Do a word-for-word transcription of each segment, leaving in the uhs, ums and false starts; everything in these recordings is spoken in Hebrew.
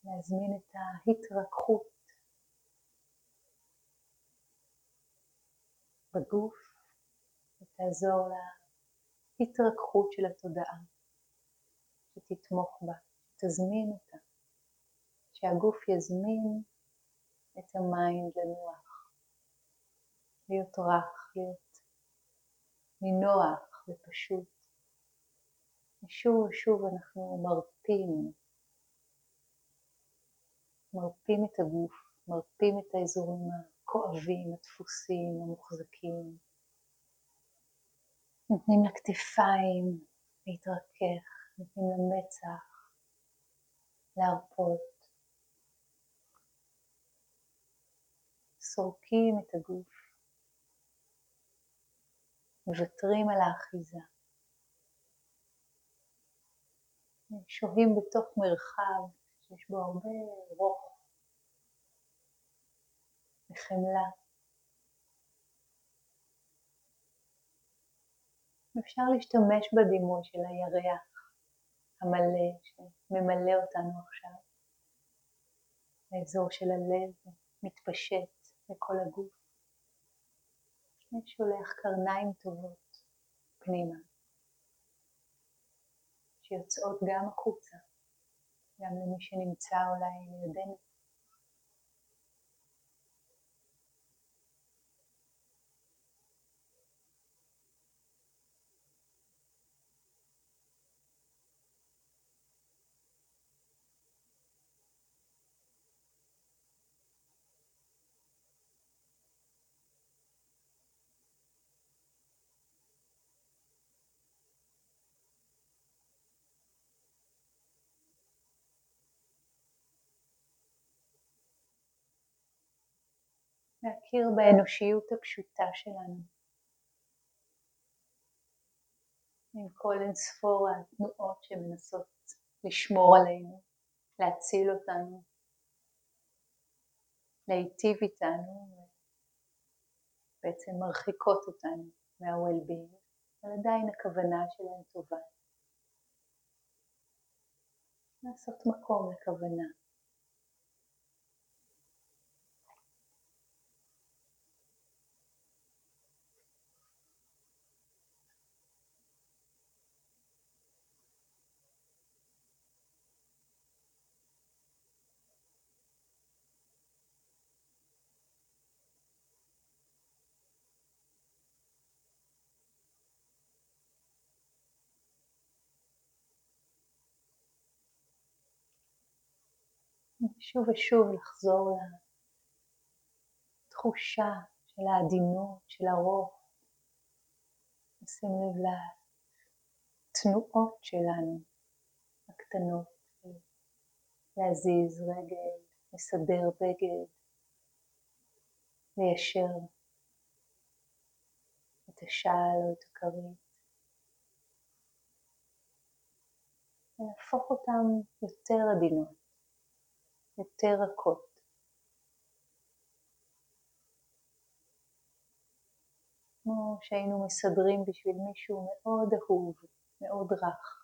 להזמין את ההתרככות בגוף ותעזור להתרככות של התודעה, שתתמוך בה, תזמין אותה, שהגוף יזמין את המיינד לנוח, להיות רך, להיות נינוח ופשוט. ושוב ושוב אנחנו מרפים, מרפים את הגוף, מרפים את האזורים הכואבים, הדפוסים, המוחזקים. נותנים לכתפיים להתרכך, נותנים למצח להרפות. סורקים את הגוף, מוותרים על האחיזה. שוהים בתוך מרחב שיש בו הרבה רוך וחמלה. אפשר להשתמש בדימוי של הירח המלא שממלא אותנו עכשיו. האזור של הלב מתפשט לכל הגוף. ושולח קרניים טובות פנימה, שיוצאות גם החוצה, גם למי שנמצא אולי לידינו. להכיר באנושיות הפשוטה שלנו. עם כל אינספור התנועות שמנסות לשמור עלינו, להציל אותנו, להיטיב איתנו, בעצם מרחיקות אותנו מה-well-being, אבל עדיין הכוונה שלהם טובה. לעשות מקום לכוונה. שוב ושוב לחזור לתחושה של העדינות, של הרוך. נשים לב לתנועות שלנו, הקטנות, להזיז רגל, לסדר בגד, ליישר את השעל או את הכרית. ולהפוך אותם יותר עדינות. יותר רכות. כמו שהיינו מסדרים בשביל מישהו מאוד אהוב, מאוד רך.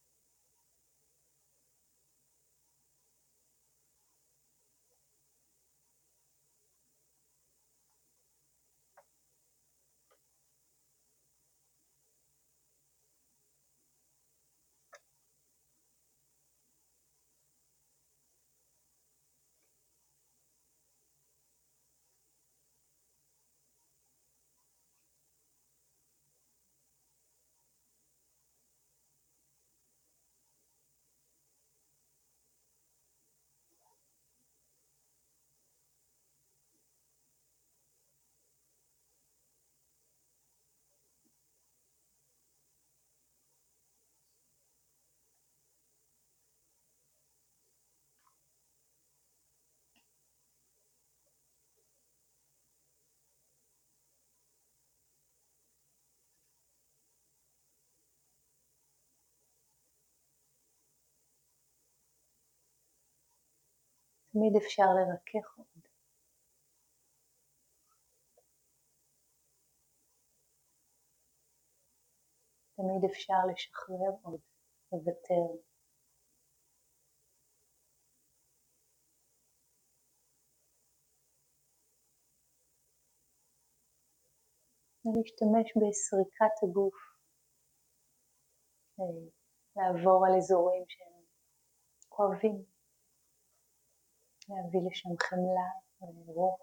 תמיד אפשר לרכך עוד. תמיד אפשר לשחרר עוד, לוותר. ולהשתמש בסריקת הגוף, לעבור על אזורים שהם כואבים, להביא לשם חמלה ורוח.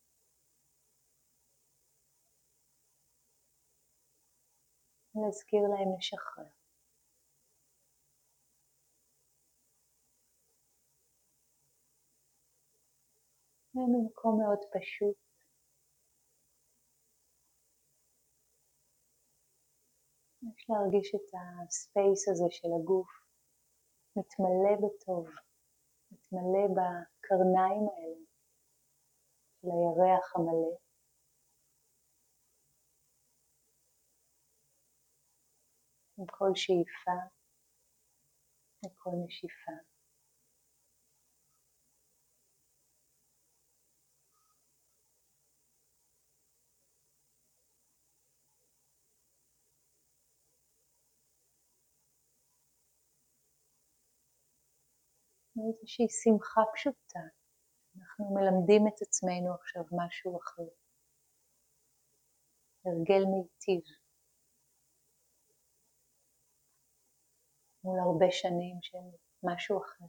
להזכיר להם לשחרר. וממקום מאוד פשוט, יש להרגיש את הספייס הזה של הגוף מתמלא בטוב, מתמלא בקרניים האלה של הירח המלא. עם כל שאיפה וכל נשיפה. איזושהי שמחה פשוטה. אנחנו מלמדים את עצמנו עכשיו משהו אחר. הרגל מיטיב. מול הרבה שנים של משהו אחר.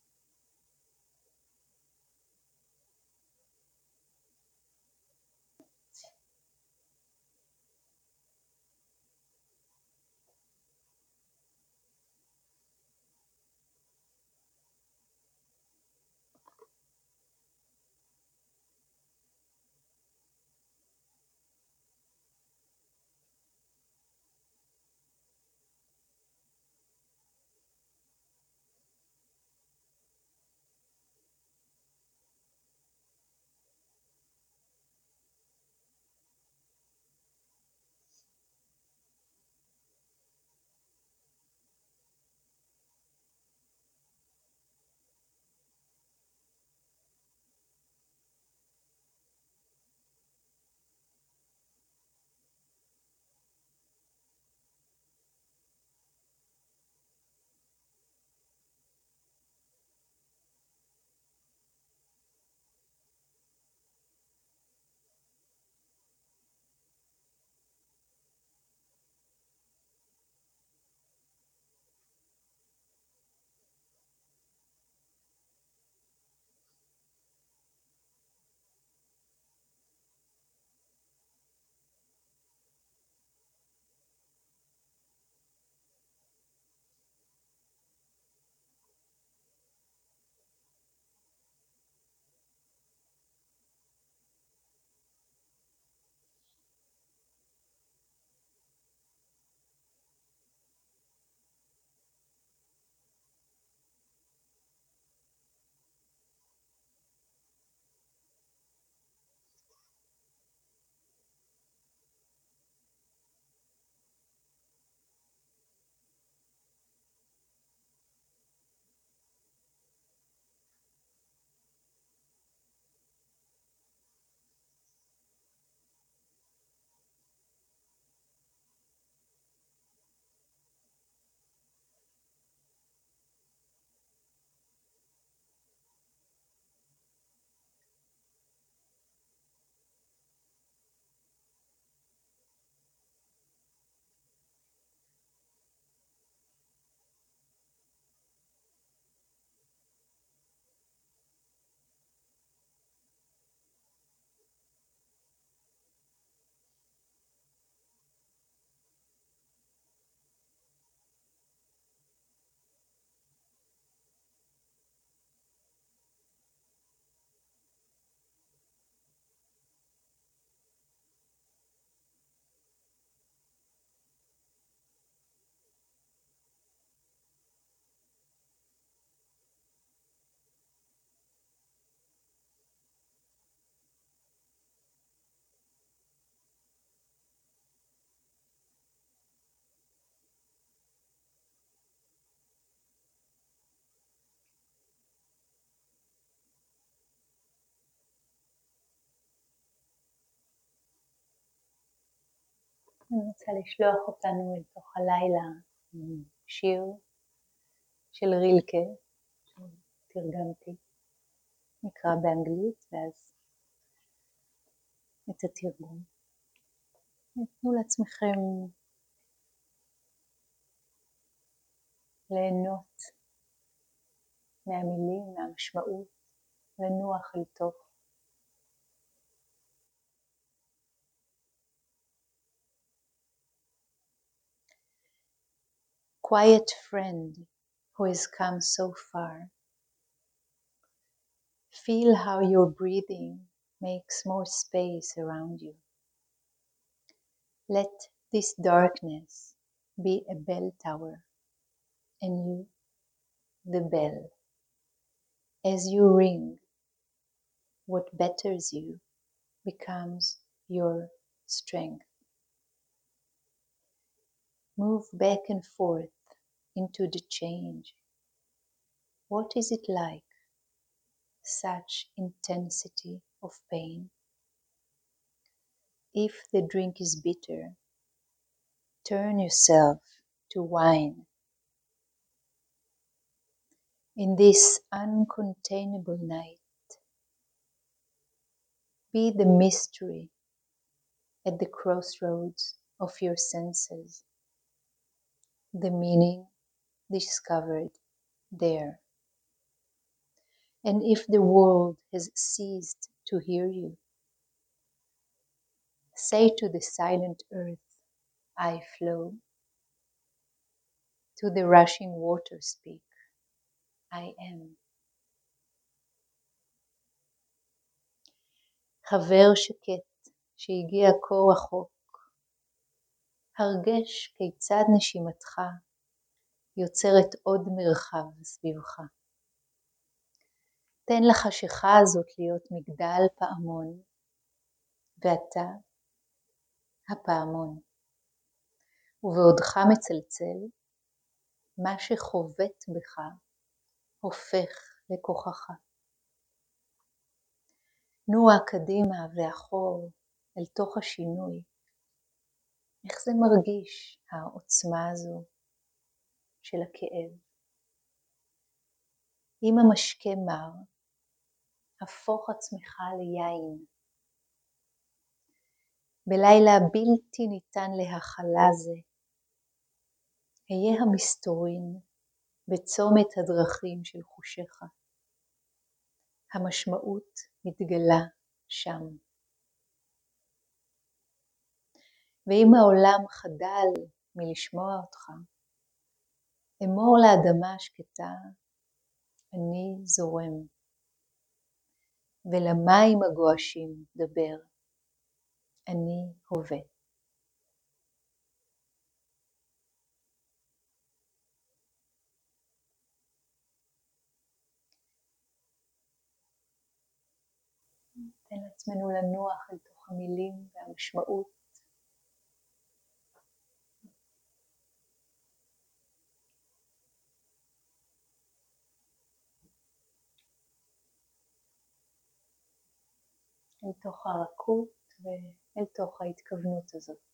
אני רוצה לשלוח אותנו אל תוך הלילה עם שיר של רילקה, שתרגמתי, נקרא באנגלית, ואז את התרגום. תנו לעצמכם ליהנות מהמילים, מהמשמעות, לנוח אל תוך. Quiet friend who has come so far. Feel how your breathing makes more space around you. Let this darkness be a bell tower, and you, the bell. As you ring, what betters you becomes your strength. Move back and forth into the change. What is it like, such intensity of pain? If the drink is bitter, turn yourself to wine. In this uncontainable night, be the mystery at the crossroads of your senses, the meaning discovered there. And if the world has ceased to hear you, say to the silent earth, I flow. To the rushing water speak, I am. חבר שקט שהגיע כה רחוק, הרגש כיצד נשימתך יוצרת עוד מרחב סביבך. תן לחשיכה הזאת להיות מגדל פעמון, ואתה הפעמון. ובעודך מצלצל, מה שחובט בך הופך לכוחך. נוע קדימה ואחור אל תוך השינוי. איך זה מרגיש, העוצמה הזו של הכאב? אם המשקה מר, הפוך עצמך ליין. בלילה בלתי ניתן להכלה זה, היה המסתורין בצומת הדרכים של חושיך. המשמעות מתגלה שם. ואם העולם חדל מלשמוע אותך, אמור לאדמה השקטה, אני זורם. ולמים הגועשים דבר, אני הווה. תן לעצמנו לנוח אל תוך המילים והמשמעות. אל תוך הרכות ואל תוך ההתכוונות הזאת.